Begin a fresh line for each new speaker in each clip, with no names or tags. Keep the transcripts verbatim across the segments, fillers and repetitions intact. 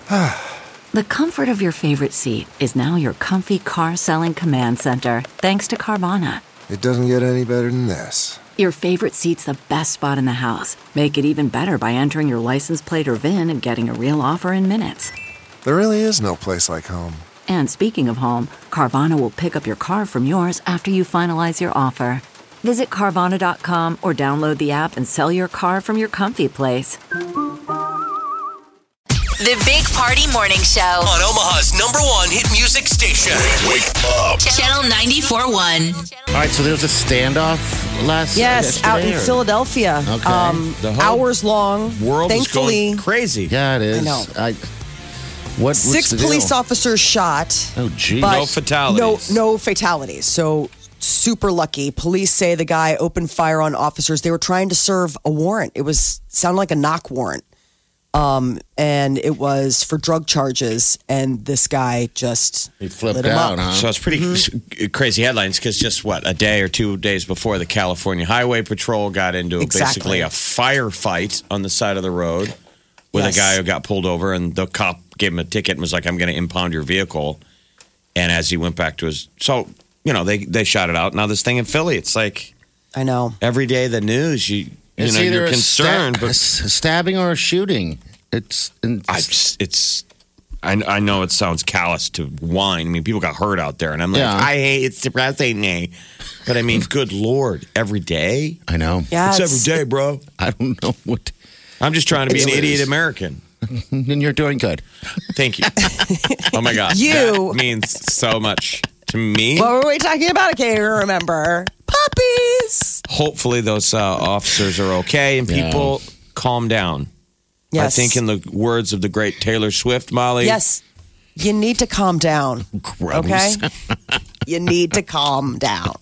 The comfort of your favorite seat is now your comfy car selling command center, thanks to Carvana.
It doesn't get any better than this.
Your favorite seat's the best spot in the house. Make it even better by entering your license plate or V I N and getting a real offer in minutes.
There really is no place like home.
And speaking of home, Carvana will pick up your car from yours after you finalize your offer. Visit Carvana dot com or download the app and sell your car from your comfy place.
The Big Party Morning Show
on Omaha's number one hit music station. Wake up.
Channel ninety-four point one.
All right, so there was a standoff last
Yes, out in
or?
Philadelphia.
Okay.
Um,
The whole
hours long.
World
Thankfully,
is going crazy.
Yeah, it is.
I know.
I, what,
six
what's the
police
deal?
officers shot.
Oh, geez.
but
No fatalities.
No, no fatalities. So super lucky. Police say the guy opened fire on officers. They were trying to serve a warrant. It was sounded like a knock warrant. Um, and it was for drug charges, and this guy just
He flipped
lit him
out,
up.
huh?
So it's pretty
Mm-hmm.
crazy headlines because just what, a day or two days before, the California Highway Patrol got into
Exactly.
basically a firefight on the side of the road with
Yes.
a guy who got pulled over, and the cop gave him a ticket and was like, I'm going to impound your vehicle. And as he went back to his, so, you know, they, they shot it out. Now this thing in Philly, it's like
I know.
every day the news, you, you
It's
know,
either
you're
a
concerned,
sta- a
but
s- a stabbing or a shooting. It's, it's
I just, it's, I, I know it sounds callous to whine. I mean, people got hurt out there, and I'm like,
Yeah.
I hate it's depressing, me. But I mean, good Lord, every day?
I know.
Yeah,
It's
it's-
every day, bro.
I don't know what.
I'm just trying to be
It
an
is.
idiot American.
And you're doing good.
Thank you. Oh my God.
You-
That means so much to me.
What were we talking about? I can't even remember. Puppies.
Hopefully, those uh, officers are okay and
Yeah.
people calm down.
Yes.
I think, in the words of the great Taylor Swift, Molly.
Yes. You need to calm down.
Gross.
Okay? You need to calm down.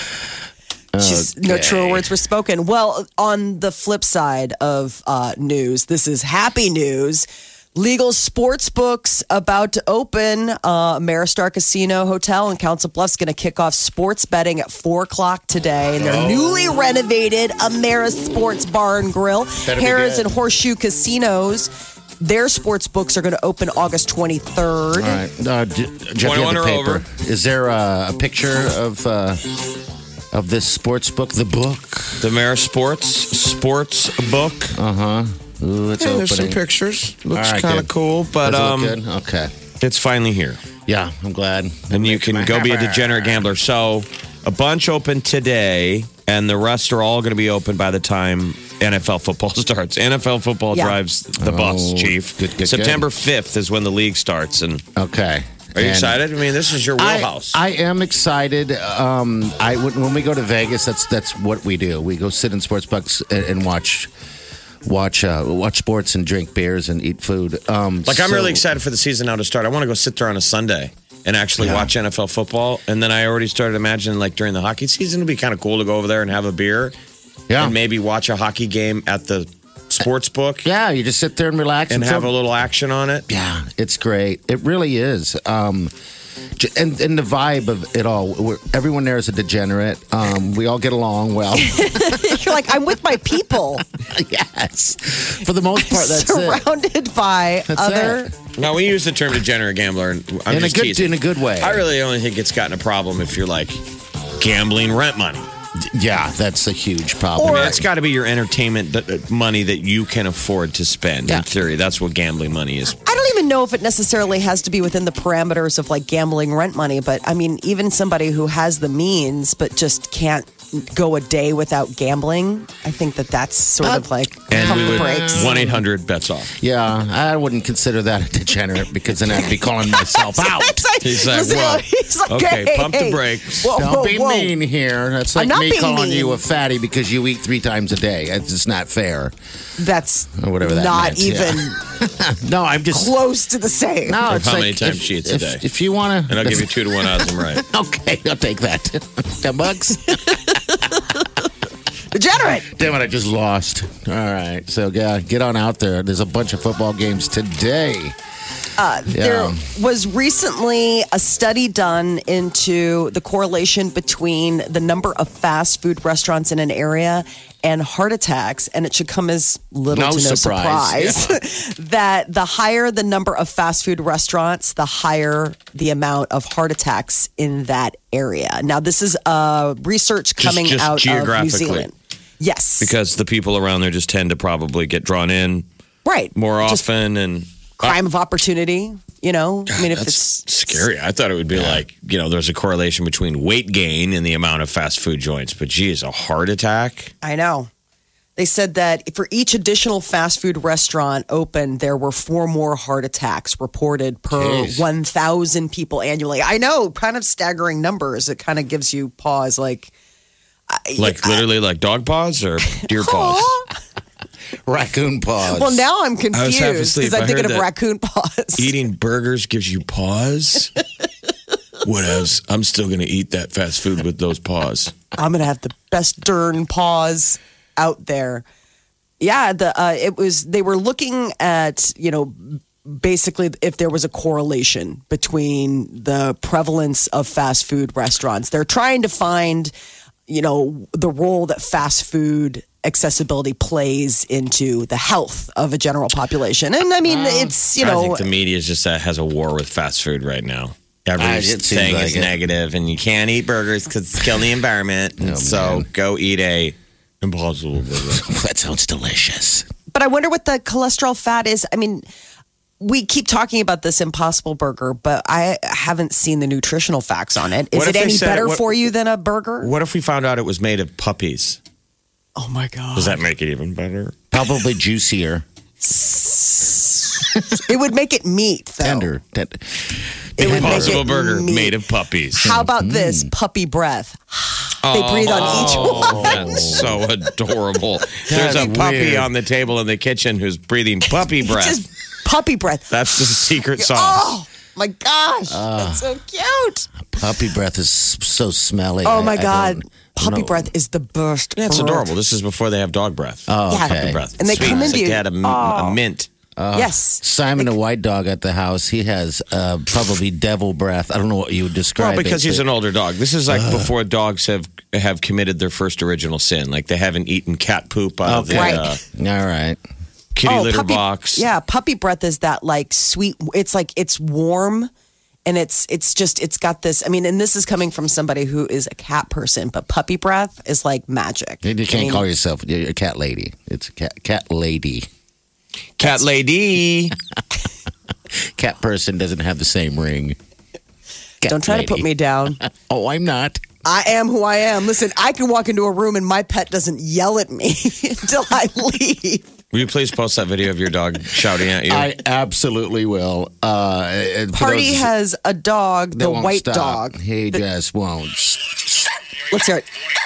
She's, no
Okay.
truer words were spoken. Well, on the flip side of uh, news, this is happy news. Legal sports books about to open. Uh, Maristar Casino Hotel in Council Bluffs going to kick off sports betting at four o'clock today. And their newly renovated Ameris Sports Bar and Grill,
Better be
Harrods
good.
and Horseshoe Casinos. Their sports books are going to open August twenty-third.
All right. Uh, J- Jeff, you
twenty-one
have the
or
paper.
over.
Is there a, a picture of uh, of this sports book? The book?
The Mayor Sports Sports Book.
Uh huh. Ooh, it's
Yeah,
opening.
there's some pictures. Looks
All right,
kind of
good.
cool, but
Does it
um,
look good? Okay.
it's finally here.
Yeah, I'm glad.
And you can go be a degenerate gambler. So a bunch open today, and the rest are all going to be open by the time N F L football starts. N F L football
Yeah.
drives the bus,
Oh,
Chief.
good, good,
September fifth is when the league starts. And
Okay.
are you
And
excited? I mean, this is your
I,
wheelhouse.
I am excited. Um, I when when we go to Vegas, that's that's what we do. We go sit in sports books and, and watch watch uh, watch sports and drink beers and eat food. Um,
like, I'm
so-
really excited for the season now to start. I want to go sit there on a Sunday and actually
Yeah.
watch N F L football. And then I already started imagining, like, during the hockey season, it'd be kind of cool to go over there and have a beer
Yeah.
and maybe watch a hockey game at the sports book
Yeah, you just sit there and relax
and
feel-
have a little action on it.
Yeah, it's great. It really is. Um, j- and, and the vibe of it all, we're, everyone there is a degenerate. Um, we all get along well.
You're like, I'm with my people.
Yes. For the most part, that's it.
surrounded by
That's
other.
it.
Now, we use the term degenerate gambler, and I'm
In a
just
good
teasing.
in a good way.
I really only think it's gotten a problem if you're like gambling rent money.
Yeah, that's a huge problem.
I mean, it's got to be your entertainment th- uh, money that you can afford to spend.
Yeah.
In theory, that's what gambling money is.
I don't even know if it necessarily has to be within the parameters of like gambling rent money, but I mean, even somebody who has the means but just can't go a day without gambling, I think that that's sort of like
And
pump
we
the
would
brakes.
one eight hundred bets off.
Yeah, I wouldn't consider that a degenerate because then I'd be calling myself out.
It's like-
He's like,
listen,
whoa.
he's like,
Okay,
hey,
pump the
hey.
brakes.
Whoa,
Don't
whoa,
be
whoa.
mean here. That's like
I'm not
me
being
calling
mean.
you a fatty because you eat three times a day. It's just not fair.
That's
Or whatever that
not
meant, yeah.
even
No, I'm just
close to the same.
No,
Or
it's
how
like
many times
if,
she eats a
if,
day.
If you want to,
And I'll give you two to one odds. I'm right.
Okay, I'll take that. Ten bucks.
Degenerate.
Damn it, I just lost. All right, so yeah, get on out there. There's a bunch of football games today.
Uh,
Yeah.
There was recently a study done into the correlation between the number of fast food restaurants in an area and heart attacks, and it should come as little
No
to no
surprise.
surprise, that the higher the number of fast food restaurants, the higher the amount of heart attacks in that area. Now, this is uh, research coming
just
out of New
geographically.
Zealand. Yes.
Because the people around there just tend to probably get drawn in
right.
more
Just
often and
crime of opportunity, you know? I mean, if
that's
it's
scary. I thought it would be like, you know, there's a correlation between weight gain and the amount of fast food joints. But geez, a heart attack?
I know. They said that for each additional fast food restaurant open, there were four more heart attacks reported per
Jeez.
one thousand people annually. I know, kind of staggering numbers. It kind of gives you pause, like,
Like literally like dog paws or deer paws?
Raccoon paws.
well, now I'm
was half
confused
asleep.
because I'm
I
thinking
heard
of
that
raccoon paws.
Eating burgers gives you paws? Whatevs. I'm still going to eat that fast food with those paws.
I'm gonna have the best darn paws out there. Yeah, the uh, it was they were looking at you know basically if there was a correlation between the prevalence of fast food restaurants. They're trying to find you know the role that fast food accessibility plays into the health of a general population. And I mean, it's you
I
know
think the media just uh, has a war with fast food right now.
Ah, it
Everything
seems like
is
it.
negative, and you can't eat burgers because it's killing the environment. And
Oh,
so
man.
go eat a Impossible Burger.
That sounds delicious.
But I wonder what the cholesterol fat is. I mean, we keep talking about this Impossible Burger, but I haven't seen the nutritional facts on it. Is
What
it
if they
any
said-
better
what-
for you than a burger?
What if we found out it was made of puppies?
Oh my God.
Does that make it even better?
Probably juicier,
It would make it meat, though.
tender. Ten-
It would make
Impossible
it
Burger
meat.
made of puppies.
How about this? Puppy breath. They breathe on each
Oh,
one.
that's so adorable. There's a
That's
puppy
weird.
on the table in the kitchen who's breathing puppy breath.
Just puppy breath.
That's the secret sauce.
Oh my gosh. That's so cute.
Puppy breath is so smelly.
Oh
I-
my
I
God.
don't-
Puppy
no.
breath is the best.
Yeah, it's
breath.
adorable. This is before they have dog breath.
Oh,
Yeah.
okay.
Puppy breath.
And they
Sweet.
come
It's
into
like
you-
they had a, a mint.
yes.
Simon, the white dog at the house, he has uh, probably devil breath. I don't know what you would describe
Well, because
it,
he's
but-
an older dog. This is like before dogs have have committed their first original sin. Like they haven't eaten cat poop out of the
Okay.
uh,
All right.
kitty
Oh,
litter
puppy-
box.
Yeah, puppy breath is that like sweet. It's like it's warm, and it's it's just it's got this. I mean, and this is coming from somebody who is a cat person, but puppy breath is like magic.
You
I
can't
mean,
call yourself you're a cat lady. It's a cat cat lady.
Cat lady.
Cat person doesn't have the same ring. Cat
Don't try to put
lady.
me down.
Oh, I'm not.
I am who I am. Listen, I can walk into a room and my pet doesn't yell at me until I leave.
Will you please post that video of your dog shouting at you?
I absolutely will. Uh, and for
Party
those
has a dog,
that
the
won't
white
stop,
dog.
He just won't.
Let's hear it.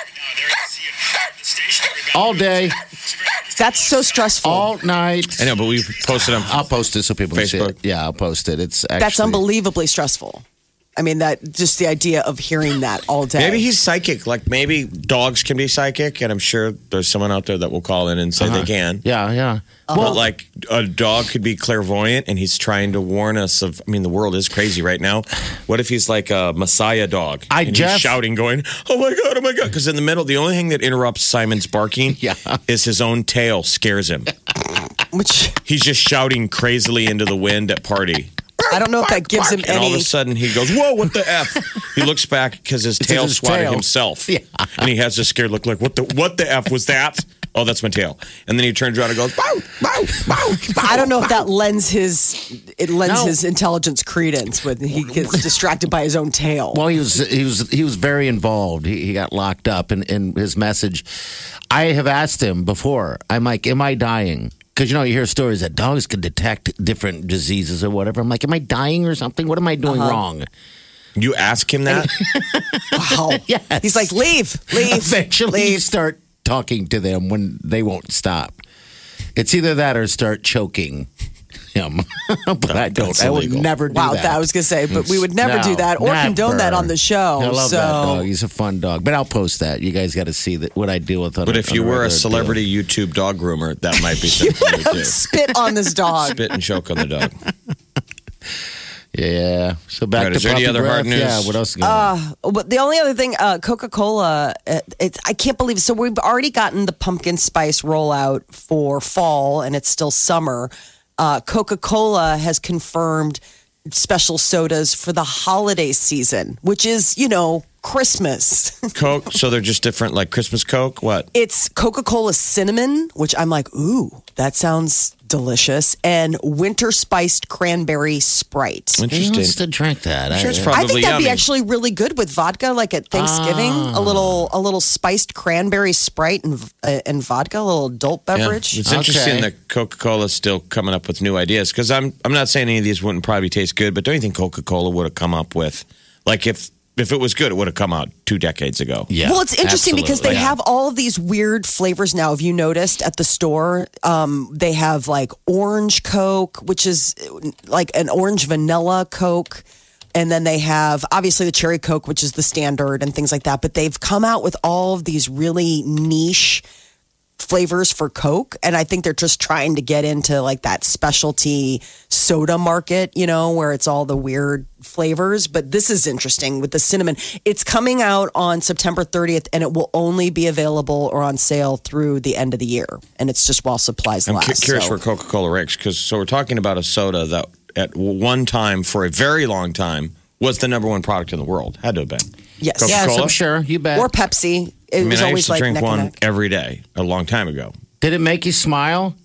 All day,
That's so stressful.
all night.
I know, but we posted on.
I'll post it so people can see
Facebook?
it. Yeah, I'll post it. It's actually,
That's unbelievably stressful. I mean, that just the idea of hearing that all day.
Maybe he's psychic. Like maybe dogs can be psychic, and I'm sure there's someone out there that will call in and say they can.
Yeah, yeah.
But like a dog could be clairvoyant, and he's trying to warn us of. I mean, the world is crazy right now. What if he's like a messiah dog?
I
and
just-
he's shouting, going, "Oh my god, oh my god!" Because in the middle, the only thing that interrupts Simon's barking
Yeah.
is his own tail scares him.
Which
He's just shouting crazily into the wind at party.
I don't know if that gives him
And all of
any.
a sudden he goes, "Whoa, what the F?" He looks back because his
It's
tail
his
swatted
tail.
himself.
Yeah.
And he has this scared look like, what the what the F was that? Oh, that's my tail. And then he turns around and goes, "Bow, bow, bow."
I don't know if that lends his it lends
No.
his intelligence credence when he gets distracted by his own tail.
Well, he was he was he was very involved. He, he got locked up, and in his message, I have asked him before. I'm like, "Am I dying?" Because you know you hear stories that dogs can detect different diseases or whatever. I'm like, "Am I dying or something? What am I doing wrong?"
You ask him that?
Wow.
Yes.
He's like, leave, leave,
Eventually, you
leave.
start talking to them when they won't stop. It's either that or start choking him. But I don't.
That's
I would
illegal.
never do
Wow,
that.
that I was gonna say, but we would never
No,
do that or condone that
never.
on the show.
I love
so
that dog. He's a fun dog. But I'll post that. You guys got to see that what I deal with. On
But
a-
if
on
you
a
were a
regular
celebrity YouTube dog groomer, that might be something you would do.
spit on this dog.
Spit and choke on the dog.
deal. Yeah. So back
All right,
to
is there any
puppy
other
breath.
hard news?
Yeah. What else? Is going on?
Uh, but the only other thing, uh, Coca-Cola, uh, it's I can't believe. So we've already gotten the pumpkin spice rollout for fall, and it's still summer. Uh, Coca-Cola has confirmed special sodas for the holiday season, which is, you know, Christmas.
Coke, so they're just different, like Christmas Coke? What?
It's Coca-Cola cinnamon, which I'm like, ooh, that sounds delicious, and winter spiced cranberry Sprite.
Who
Interesting.
wants to drink that?
I'm sure it's
I-
probably
I think that'd be
yummy.
actually really good with vodka, like at Thanksgiving. A little, a little spiced cranberry Sprite and uh, and vodka, a little adult
Yeah.
beverage.
It's interesting
Okay.
that Coca-Cola's still coming up with new ideas because I'm I'm not saying any of these wouldn't probably taste good, but don't you think Coca-Cola would have come up with like if if it was good, it would have come out two decades ago.
Yeah.
Well, it's interesting because they
absolutely.
have all of these weird flavors now. Have you noticed at the store? Um, they have like orange Coke, which is like an orange vanilla Coke. And then they have obviously the cherry Coke, which is the standard and things like that. But they've come out with all of these really niche flavors for Coke. And I think they're just trying to get into like that specialty soda market, you know, where it's all the weird flavors. But this is interesting with the cinnamon. It's coming out on September thirtieth and it will only be available or on sale through the end of the year. And it's just while supplies
I'm
last.
cu- curious
so.
where Coca-Cola ranks because so we're talking about a soda that at one time for a very long time was the number one product in the world. Had to have been.
Yes.
Coca-Cola?
Yes, I'm sure. You bet.
Or Pepsi. It
I mean,
was
I
always
used to
like
drink
neck and
one
neck.
every day a long time ago.
Did it make you smile?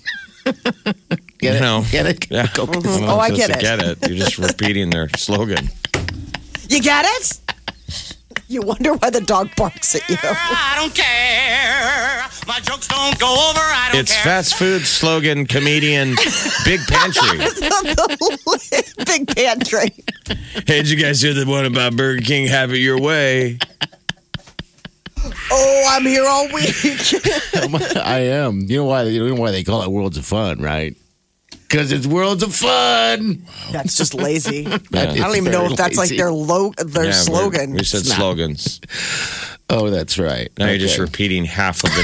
Get
You
it?
know.
Get it?
Yeah.
Coke-
I'm not
Oh, I
supposed
get
to
it.
Get it. You're just repeating their slogan.
You get it? You wonder why the dog barks at you.
I don't care. My jokes don't go over. I don't
It's
care.
fast food slogan comedian Big Pantry.
Big pantry.
Hey, did you guys hear the one about Burger King? Have it your way.
Oh, I'm here all week.
I am. You know why? You know why they call it Worlds of Fun, right? Because it's Worlds of Fun.
That's just lazy. I
It's
don't even know
very
if that's like
lazy.
their lo- their
Yeah,
slogan.
We said
It's not.
slogans.
Oh, that's right.
Now you're just
Okay.
repeating half of the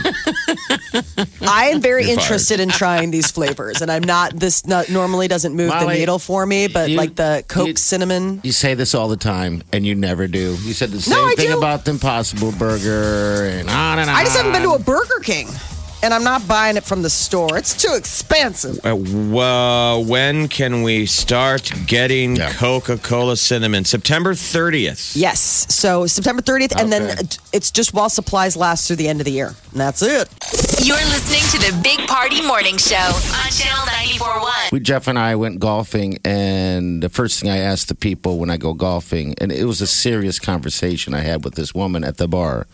name.
I am very
You're fired.
interested in trying these flavors, and I'm not. This not, normally doesn't move the
Molly,
needle for me, but
you-
like the Coke
you-
cinnamon.
You say this all the time, and you never do. You said the same
I
thing
do.
about the Impossible Burger, and on and on.
I just haven't been to a Burger King, and I'm not buying it from the store. It's too expensive.
Uh, well, when can we start getting
Yeah.
Coca-Cola cinnamon? September thirtieth.
Yes, so September thirtieth, and then
Okay.
it's just while supplies last through the end of the year, and that's it.
You're listening to the Big Party Morning Show on Channel ninety-four point one.
We, Jeff and I went golfing, and the first thing I asked the people when I go golfing, and it was a serious conversation I had with this woman at the bar.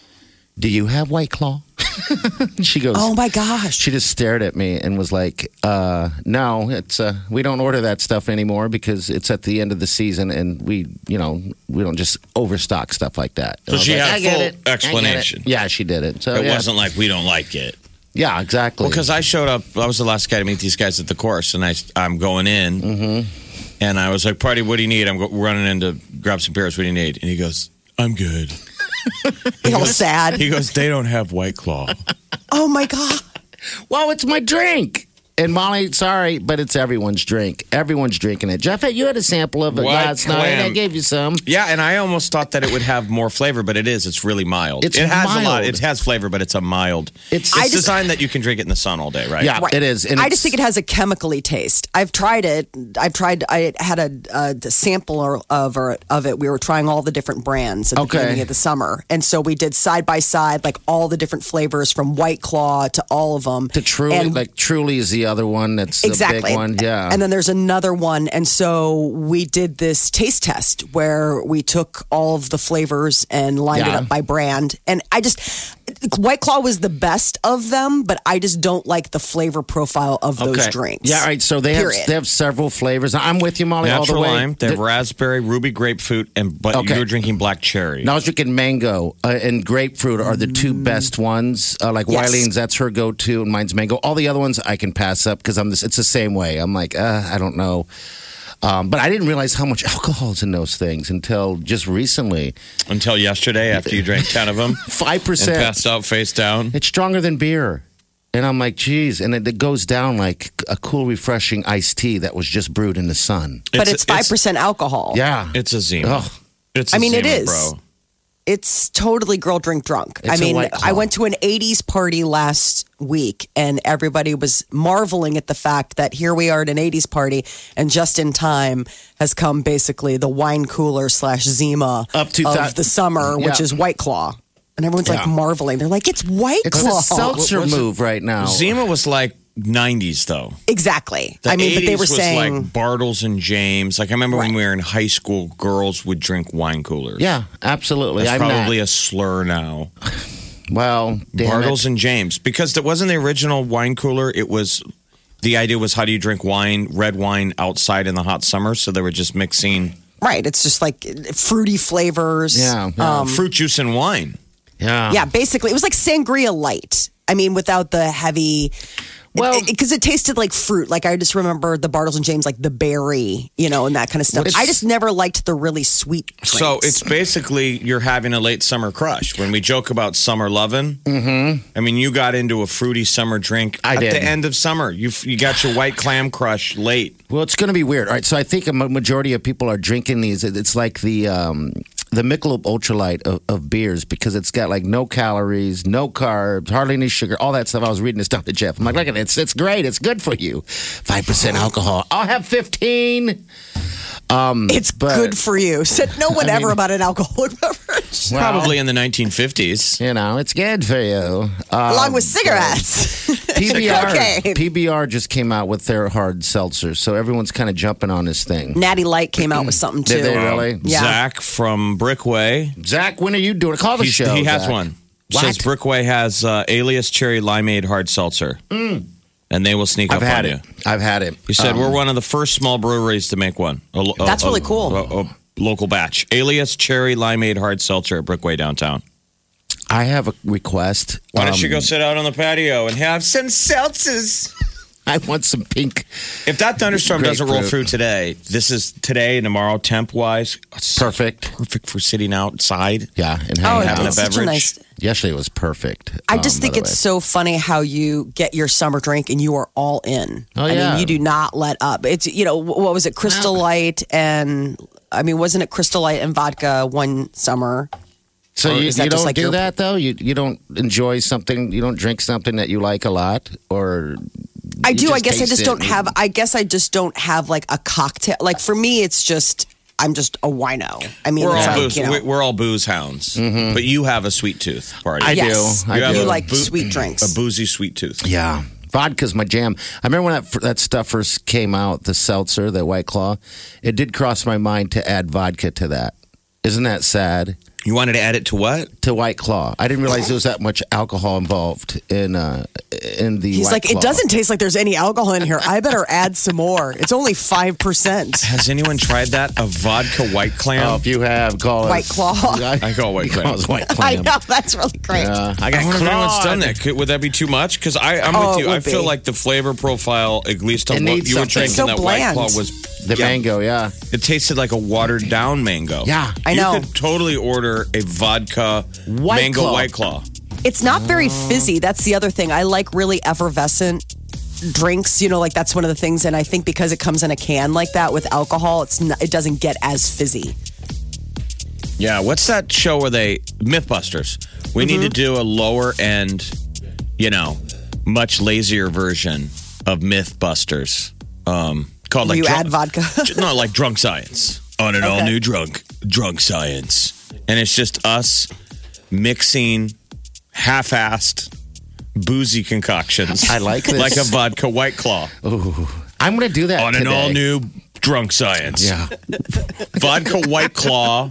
Do you have White Claw? She goes,
Oh my gosh!
she just stared at me and was like, uh, no, it's uh, we don't order that stuff anymore because it's at the end of the season and we, you know, we don't just overstock stuff like that. And
So
I was
she
like,
had
I get
full
it. I get it.
explanation.
Yeah, she did it. So
It
yeah.
wasn't like we don't like it.
Yeah, exactly.
Well, because I showed up, I was the last guy to meet these guys at the course, and I, I'm going in,
Mm-hmm.
and I was like, "Party, what do you need?" I'm go- running in to grab some beers. What do you need? And he goes, "I'm good."
You're all sad.
He goes, "They don't have White Claw."
Oh my god!
well, it's my drink. And Molly, sorry, but it's everyone's drink. Everyone's drinking it. Jeff, you had a sample of it
White
last night. I
Clam.
gave you some.
Yeah, and I almost thought that it would have more flavor, but it is. It's really mild.
It's
it has a lot.
mild.
It has flavor, but it's a mild.
It's-
It's
I
just-
designed that you can drink it in the sun all day, right?
Yeah,
Right.
it is. And
I
it's-
just think it has a chemically taste. I've tried it. I've tried. I had a, a sampler of or, of it. We were trying all the different brands at the
Okay.
beginning of the summer, and so we did side by side, like all the different flavors from White Claw to all of them.
The Truly,
And-
like Truly is the other one. That's
exactly.
the big one. Yeah.
And then there's another one. And so we did this taste test where we took all of the flavors and lined it
Yeah.
up by brand. And I just, White Claw was the best of them, but I just don't like the flavor profile of those drinks.
Yeah, all right. So they have
Period.
they have several flavors. I'm with you, Molly, all the
Natural
way.
lime. They have
The-
raspberry, ruby grapefruit, and but
Okay.
you're drinking black cherry.
Now I was drinking mango uh, and grapefruit are the two best ones. Uh, like
Yes.
Wileen's, that's her go-to, and mine's mango. All the other ones I can pass up because I'm this. It's the same way. I'm like, uh, I don't know. Um, but I didn't realize how much alcohol is in those things until just recently.
Until yesterday, after you drank ten of them
Five
and
percent.
passed out face down.
It's stronger than beer. And I'm like, geez. And it, it goes down like a cool, refreshing iced tea that was just brewed in the sun.
But it's five percent alcohol.
Yeah.
It's a Zima.
Oh.
It's a
I mean, it
Zima,
is.
bro.
It's totally girl drink drunk.
It's
I
a
mean,
White Claw.
I went to an eighties party last week and everybody was marveling at the fact that here we are at an eighties party and just in time has come basically the wine cooler slash Zima
Up to
of
that-
the summer, which
Yeah.
is White Claw. And everyone's like
Yeah.
marveling. They're like, it's White
It's
Claw.
a seltzer
What's it?
move right now.
Zima was like nineties, though.
Exactly.
The
I mean, but they
eighties
were
was
saying
like Bartles and James. Like I remember when
Right.
we were in high school, girls would drink wine coolers.
Yeah, absolutely.
That's
I'm
probably
not.
a slur now.
Well, damn
Bartles
it.
and James, because that wasn't the original wine cooler. It was the idea was how do you drink wine, red wine outside in the hot summer? So they were just mixing
right. It's just like fruity flavors.
Yeah, yeah.
Um,
fruit juice and wine.
Yeah.
yeah, basically, it was like sangria light. I mean, without the heavy.
Well-
because it, it tasted like fruit. Like I just remember the Bartles and James, like the berry, you know, and that kind of stuff.
It's-
I just never liked the really sweet drinks.
So it's basically you're having a late summer crush. When we joke about summer loving, mm-hmm. I mean, you got into a fruity summer drink
I
at
did.
the end of summer. You you got your white clam crush late.
Well, it's going to be weird. All right, so I think a ma- majority of people are drinking these. It- It's like the um, the Michelob Ultralight of, of beers because it's got like no calories, no carbs, hardly any sugar, all that stuff. I was reading this stuff to Jeff. I'm like, look at it. It's, it's great. It's good for you. five percent alcohol. I'll have fifteen. Um,
it's
but-
good for you. Said no one
I
ever
mean-
about an alcoholic beverage.
Well,
Probably in the nineteen fifties.
You know, it's good for you. Um,
Along with cigarettes.
P B R,
Cocaine.
P B R just came out with their hard seltzer, so everyone's kind of jumping on this thing.
Natty Light came out with something too.
Did they really?
Yeah.
Zach from Brickway.
Zach, when are you doing? Call the
He's-
show.
he has
Zach.
one.
What?
Says Brickway has uh, Alias Cherry Limeade Hard Seltzer. And they will sneak
I've
up
had
on
it.
you.
I've had it.
He said
Um,
we're one of the first small breweries to make one. A, lo- a-
That's really
a-
cool.
A, a local batch. Alias Cherry Limeade Hard Seltzer at Brickway downtown.
I have a request.
Why don't
Um,
you go sit out on the patio and have some seltzers?
I want some pink.
If that thunderstorm doesn't roll
Grapefruit.
through today, this is today and tomorrow temp wise.
Perfect.
Perfect for sitting outside.
Yeah, and
Oh,
hanging
having
out.
a
it's such a
beverage.
nice.
Yesterday was perfect.
I
um,
just think
by the
it's
way.
so funny how you get your summer drink and you are all in.
Oh,
I
yeah.
mean, you do not let up. It's, you know, wh- what was it? Crystal Light and, I mean, wasn't it Crystal Light and vodka one summer?
So
Or
you,
is that
you
just
don't
like
do
your-
that though. You you don't enjoy something. You don't drink something that you like a lot, or
I
you
do. I
just
guess I
taste
just
it
don't
and-
have, I guess I just don't have like a cocktail. Like for me, it's just, I'm just a wino. I mean,
We're
it's
all
like,
booze.
you know,
we- We're all booze hounds, but you have a sweet tooth. Party.
I
yes.
do. I
You have
do.
You
a
like
boo-
sweet drinks.
A boozy sweet tooth.
Yeah. Vodka's my jam. I remember when that that stuff first came out, the seltzer, the White Claw. It did cross my mind to add vodka to that. Isn't that sad?
You wanted to add it to what?
To White Claw. I didn't realize there was that much alcohol involved in uh, in the.
He's
White
like,
Claw.
it doesn't taste like there's any alcohol in here. I better add some more. It's only five percent.
Has anyone tried that? A vodka white clam?
Oh, if you have, call
White
us.
Claw.
I call White
You
Clam.
Call us White
I
Clam.
know, that's really great.
Uh, I
I
got
wonder if anyone's
clawed.
done that. Could, would that be too much? Because I'm
Oh,
with
it
you. I
would
feel
be.
like the flavor profile, at least on
It
what
needs
you were
something.
drinking,
It's so
that
bland.
White Claw was
The
yeah,
mango, yeah.
It tasted like a watered down mango.
Yeah.
I know.
You could totally order a vodka
White
mango
Claw.
White Claw.
It's not very fizzy. That's the other thing. I like really effervescent drinks. You know, like that's one of the things. And I think because it comes in a can like that with alcohol, it's not, it doesn't get as fizzy.
Yeah, what's that show where they Mythbusters? We need to do a lower end, you know, much lazier version of Mythbusters. Um, called
Where
like
you
drunk-
add vodka.
no, like drunk science on an
Okay.
all new drunk drunk science, and it's just us mixing half-assed boozy concoctions.
I like this.
like a vodka White Claw
Ooh. I'm going to do that
on an
today.
all new drunk science.
Yeah.
Vodka White Claw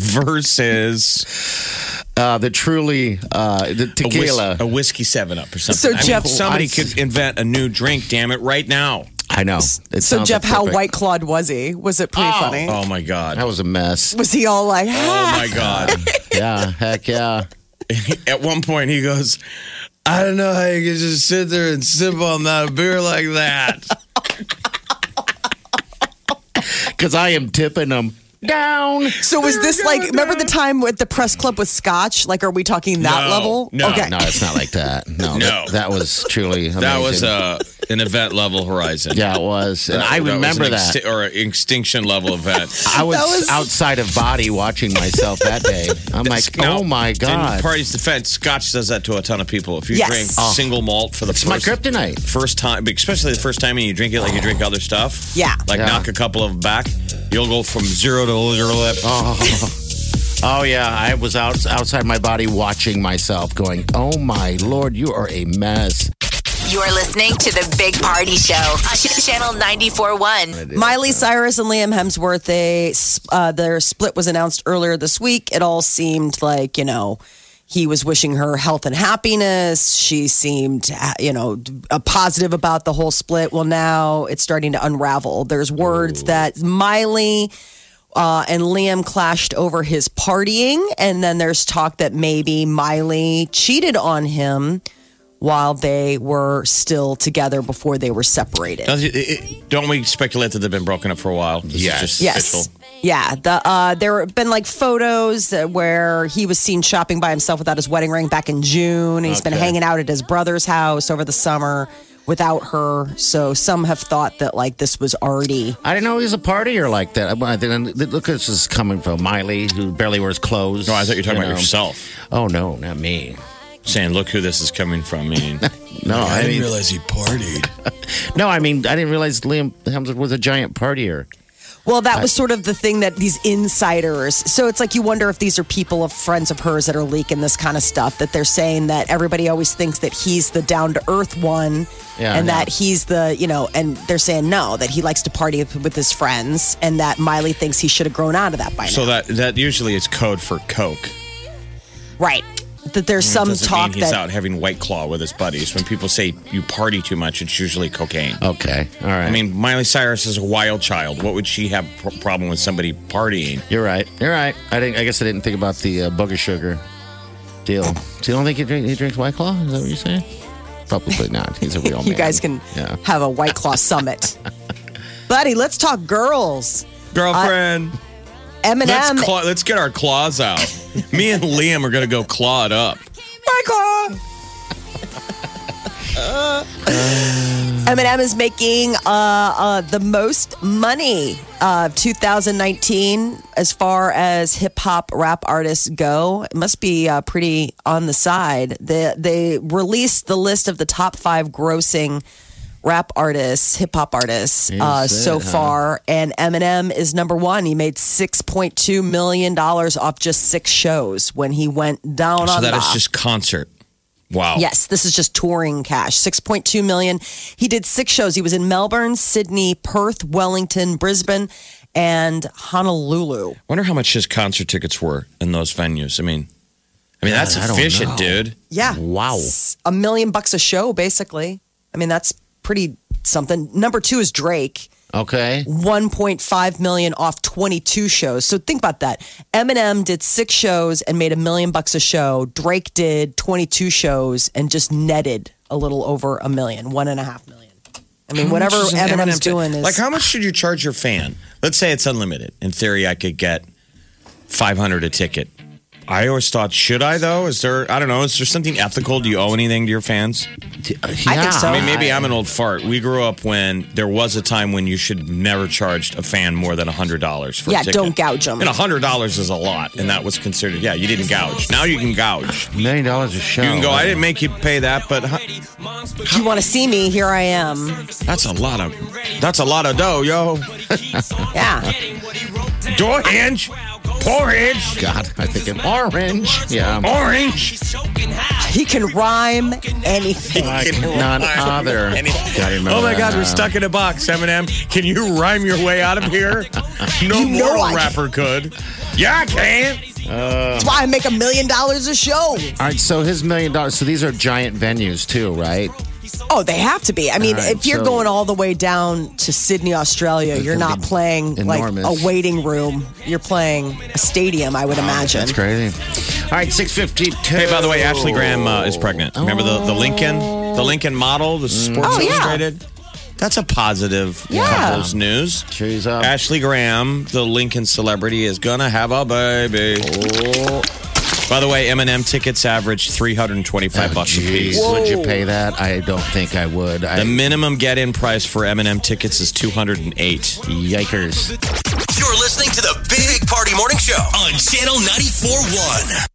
versus
Uh, the truly, uh, the
a, whis-
tequila.
a whiskey Seven Up or something.
So,
I mean,
Jeff-
somebody
I-
could invent a new drink. Damn it, right now.
I know. It
So,
sounds
Jeff, how
perfect.
white clawed was he? Was it pretty
Oh.
funny?
Oh my god.
That was a mess.
Was he all like,
Oh my god.
Yeah, heck yeah.
At one point, he goes, I don't know how you can just sit there and sip on that beer like that.
Because I am tipping them. down.
So was this like, remember the time with the press club with Scotch? Like, are we talking that
No,
level?
no.
Okay.
No, it's not like that. No,
No.
That, that was truly amazing.
That was uh, an event level horizon.
yeah, it was. And
That-
I
that was
remember
an
that.
exti- or an extinction level event.
I was,
That was-
outside of body watching myself that day. I'm like,
Now,
oh my
In
God.
party's defense, Scotch does that to a ton of people. If you
Yes.
drink
Oh.
single malt for the
It's my
first,
kryptonite.
first time, especially the first time and you drink it like you drink other stuff.
Yeah.
Like
Yeah.
knock a couple of them back, you'll go from zero to zero lip.
Oh. Oh yeah, I was out outside my body watching myself, going, "Oh my Lord, you are a mess."
You're listening to the Big Party Show on Channel ninety-four point one.
Miley Cyrus and Liam Hemsworth, they uh, their split was announced earlier this week. It all seemed like, you know, he was wishing her health and happiness. She seemed, you know, uh, positive about the whole split. Well, now it's starting to unravel. There's words that Miley uh, and Liam clashed over his partying, and then there's talk that maybe Miley cheated on him while they were still together before they were separated.
Does it- it- Don't we speculate that they've been broken up for a while? This
Yes.
is just
Yes.
official.
Yeah. The uh, there have been like photos uh, where he was seen shopping by himself without his wedding ring back in June. He's been
Okay.
hanging out at his brother's house over the summer without her. So some have thought that like this was already.
I didn't know he was a partier like that. I didn't, look, this is coming from Miley, who barely wears clothes.
No, I thought you were talking
know.
about yourself.
Oh no, not me.
Saying, look who this is coming from. Meaning,
No, I, mean,
realize he partied.
no, I mean, I didn't realize Liam Hemsworth was a giant partier.
Well, that was sort of the thing that these insiders. So it's like you wonder if these are people of friends of hers that are leaking this kind of stuff. That they're saying that everybody always thinks that he's the down to earth one,
Yeah,
and
I know.
that he's the you know, and they're saying no, that he likes to party with his friends, and that Miley thinks he should have grown out of that by now.
So that that usually is code for Coke.
Right. That there's some
Doesn't
talk
mean he's
that
out having White Claw with his buddies. When people say you party too much, it's usually cocaine.
Okay, all right.
I mean, Miley Cyrus is a wild child. What would she have a problem with somebody partying?
you're right. You're right. I didn't. I guess I didn't think about the uh, booger sugar deal. So you don't think he, drink, he drinks White Claw? Is that what you're saying? Probably not. He's a real man.
you guys can
Yeah.
have a White Claw summit. Buddy, let's talk girls.
Girlfriend,
Eminem.
let's, claw, let's get our claws out. Me and Liam are going to go claw it up.
White Claw. Eminem is making uh, uh, the most money of two thousand nineteen as far as hip hop rap artists go. It must be uh, pretty on the side. They, they released the list of the top five grossing rap artists, hip hop artists uh,
Is it,
so
huh?
far, and Eminem is number one. He made six point two million dollars off just six shows when he went down
So
on
that
the.
is just concert. Wow.
Yes, this is just touring cash. six point two million. He did six shows. He was in Melbourne, Sydney, Perth, Wellington, Brisbane, and Honolulu.
Wonder how much his concert tickets were in those venues. I mean, I mean that's
I don't
efficient,
know.
dude.
Yeah.
Wow.
S- A million bucks a show, basically. I mean, that's pretty something. Number two is Drake.
Okay.
one point five million off twenty-two shows. So think about that. Eminem did six shows and made a million bucks a show. Drake did twenty-two shows and just netted a little over a million, one and a half million. I mean,
How
whatever
much is an
Eminem's
Eminem ta-
doing is
like, how much should you charge your fan? Let's say it's unlimited. In theory, I could get five hundred a ticket. I always thought, should I though? Is there? I don't know. Is there something ethical? Do you owe anything to your fans?
I
think so.
I mean, maybe I'm an old fart. We grew up when there was a time when you should never charge a fan more than a hundred dollars for
Yeah,
a ticket.
don't gouge 'em.
And a hundred dollars is a lot, and that was considered. Yeah, you didn't gouge. Now you can gouge.
A million dollars a show.
You can go. I didn't make you pay that, but huh,
you want to see me? Here I am.
that's a lot of. That's a lot of dough, yo.
Yeah.
Door hinge, porridge,
God, I think an orange. Yeah.
orange.
He can rhyme anything.
Like none other. Gotta remember
Oh my God,
that.
we're stuck in a box, Eminem. Can you rhyme your way out of here? No
You know
mortal
I-
rapper could. Yeah, I can.
That's why I make a million dollars a show.
All right, so his million dollars. So these are giant venues too, right?
Oh, they have to be. I mean,
All right,
if you're
so-
going all the way down to Sydney, Australia, you're
gonna
not
be
playing
enormous.
like a waiting room. You're playing a stadium, I would imagine.
That's crazy. All right, six fifty-two.
Hey, by the way, Ashley Graham uh, is pregnant. Remember the, the Lincoln, the Lincoln model, the Sports
Oh, yeah.
Illustrated. That's a positive
Yeah.
couples news.
She's up.
Ashley Graham, the Lincoln celebrity, is gonna have a baby.
Oh,
By the way, Eminem tickets average three hundred twenty-five bucks a
geez.
piece.
Would you pay that? I don't think I would. I,
The minimum get-in price for Eminem tickets is two hundred eight.
Yikers.
You're listening to the Big Party Morning Show on Channel ninety-four point one.